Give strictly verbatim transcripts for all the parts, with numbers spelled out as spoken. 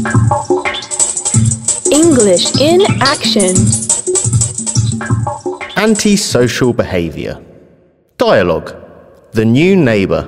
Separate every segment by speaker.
Speaker 1: English in action.
Speaker 2: Antisocial behaviour. Dialogue. The new neighbour.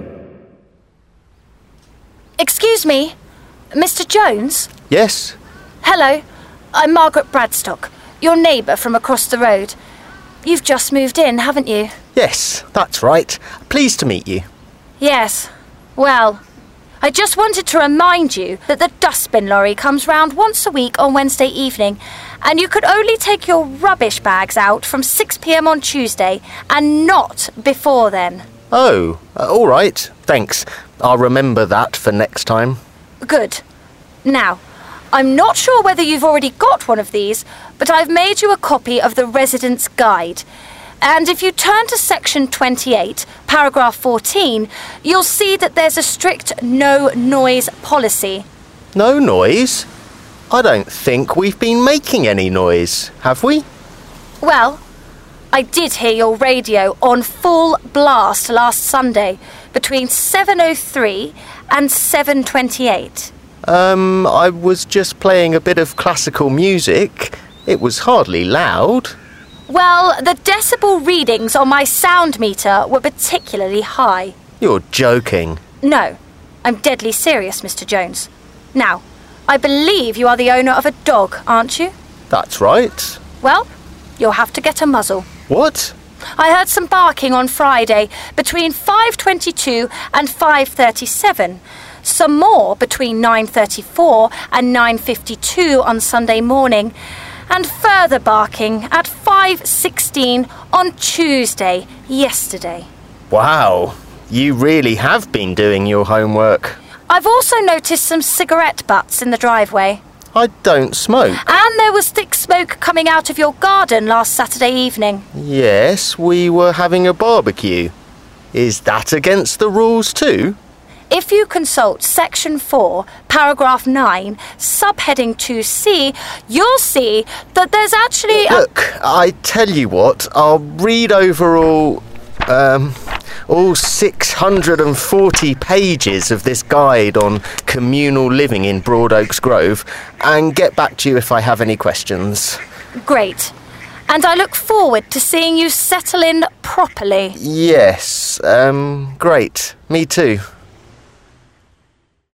Speaker 3: Excuse me, Mister Jones?
Speaker 2: Yes?
Speaker 3: Hello, I'm Margaret Bradstock, your neighbour from across the road. You've just moved in, haven't you?
Speaker 2: Yes, that's right. Pleased to meet you.
Speaker 3: Yes. Well, I just wanted to remind you that the dustbin lorry comes round once a week on Wednesday evening, and you could only take your rubbish bags out from six p m on Tuesday, and not before then.
Speaker 2: Oh, uh, all right. Thanks. I'll remember that for next time.
Speaker 3: Good. Now, I'm not sure whether you've already got one of these, but I've made you a copy of the Resident's Guide. And if you turn to section twenty-eight, paragraph fourteen, you'll see that there's a strict no noise policy.
Speaker 2: No noise? I don't think we've been making any noise, have we?
Speaker 3: Well, I did hear your radio on full blast last Sunday between seven oh three and seven twenty-eight.
Speaker 2: Um, I was just playing a bit of classical music. It was hardly loud.
Speaker 3: Well, the decibel readings on my sound meter were particularly high.
Speaker 2: You're joking.
Speaker 3: No, I'm deadly serious, Mister Jones. Now, I believe you are the owner of a dog, aren't you?
Speaker 2: That's right.
Speaker 3: Well, you'll have to get a muzzle.
Speaker 2: What?
Speaker 3: I heard some barking on Friday between five twenty-two and five thirty-seven. Some more between nine thirty-four and nine fifty-two on Sunday morning. And further barking at five sixteen on Tuesday, yesterday.
Speaker 2: Wow, you really have been doing your homework.
Speaker 3: I've also noticed some cigarette butts in the driveway.
Speaker 2: I don't smoke.
Speaker 3: And there was thick smoke coming out of your garden last Saturday evening.
Speaker 2: Yes, we were having a barbecue. Is that against the rules too?
Speaker 3: If you consult section four, paragraph nine, subheading two C, you'll see that there's actually a...
Speaker 2: Look, I tell you what, I'll read over all, um, all six hundred forty pages of this guide on communal living in Broadoaks Grove and get back to you if I have any questions.
Speaker 3: Great. And I look forward to seeing you settle in properly.
Speaker 2: Yes, um, great. Me too.